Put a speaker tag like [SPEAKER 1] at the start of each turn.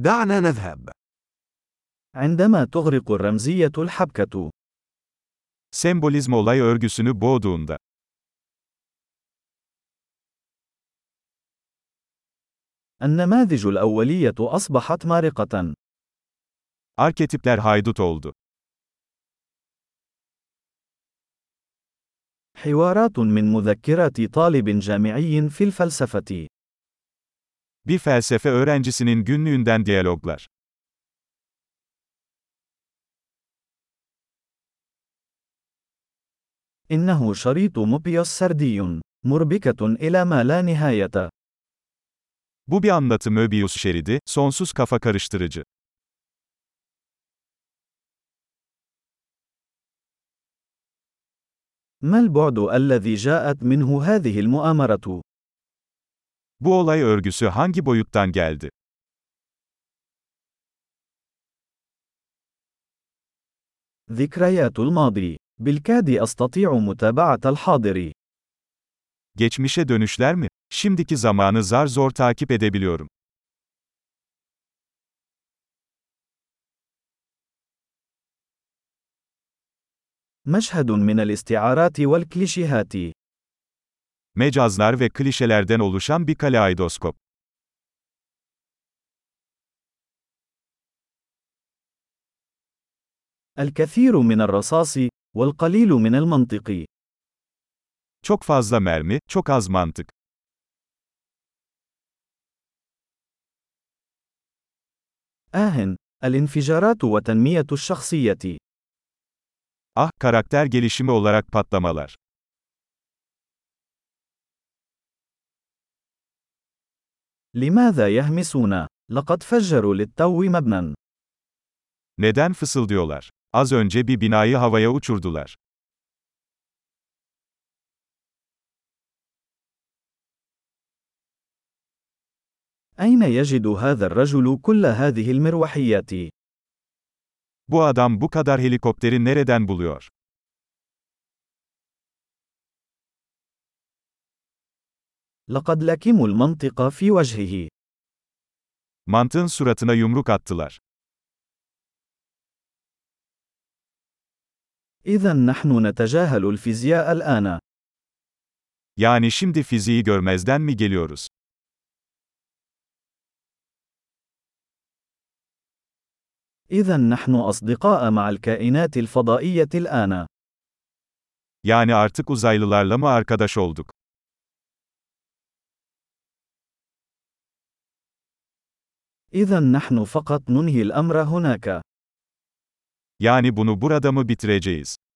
[SPEAKER 1] دعنا نذهب.
[SPEAKER 2] عندما تغرق الرمزية الحبكة.
[SPEAKER 3] Sembolizm olay örgüsünü boğduğunda.
[SPEAKER 2] النماذج الأولية أصبحت مارقة.
[SPEAKER 3] Arketipler haydut oldu.
[SPEAKER 2] حوارات من مذكرات طالب جامعي في الفلسفة.
[SPEAKER 3] Bir felsefe öğrencisinin günlüğünden diyaloglar.
[SPEAKER 2] إنه شريط موبيوس سردي، مربكة إلى ما لا نهاية.
[SPEAKER 3] Bu bir anlatı Möbius şeridi, sonsuz kafa karıştırıcı.
[SPEAKER 2] ما البعد الذي جاءت منه هذه المؤامرة؟
[SPEAKER 3] Bu olay örgüsü hangi boyuttan geldi?
[SPEAKER 2] ذكريات الماضي. بالكاد أستطيع متابعة الحاضر.
[SPEAKER 3] Geçmişe dönüşler mi? Şimdiki zamanı zar zor takip edebiliyorum.
[SPEAKER 2] مشهد من الاستعارات والكليشيهات.
[SPEAKER 3] Mecazlar ve klişelerden oluşan bir kaleidoskop.
[SPEAKER 2] الكثير من الرصاص، والقليل من المنطق.
[SPEAKER 3] Çok fazla mermi, çok az mantık.
[SPEAKER 2] الانفجارات وتنمية الشخصية.
[SPEAKER 3] Ah, karakter gelişimi olarak patlamalar.
[SPEAKER 2] لماذا يهمسون؟ لقد فجروا للتو مبنى.
[SPEAKER 3] Neden fısıldıyorlar? Az önce bir binayı havaya uçurdular.
[SPEAKER 2] أين يجد هذا الرجل كل هذه المروحيات؟
[SPEAKER 3] Bu adam bu kadar helikopteri nereden buluyor?
[SPEAKER 2] لقد لكموا المنطق في وجهه.
[SPEAKER 3] Mantığın suratına yumruk attılar.
[SPEAKER 2] إذا نحن نتجاهل الفيزياء الآن.
[SPEAKER 3] Yani şimdi fiziği görmezden mi geliyoruz?
[SPEAKER 2] إذا نحن أصدقاء مع الكائنات الفضائية الآن.
[SPEAKER 3] Yani artık uzaylılarla mı arkadaş olduk?
[SPEAKER 2] إذا نحن فقط ننهي الأمر هناك.
[SPEAKER 3] Yani bunu burada mı bitireceğiz?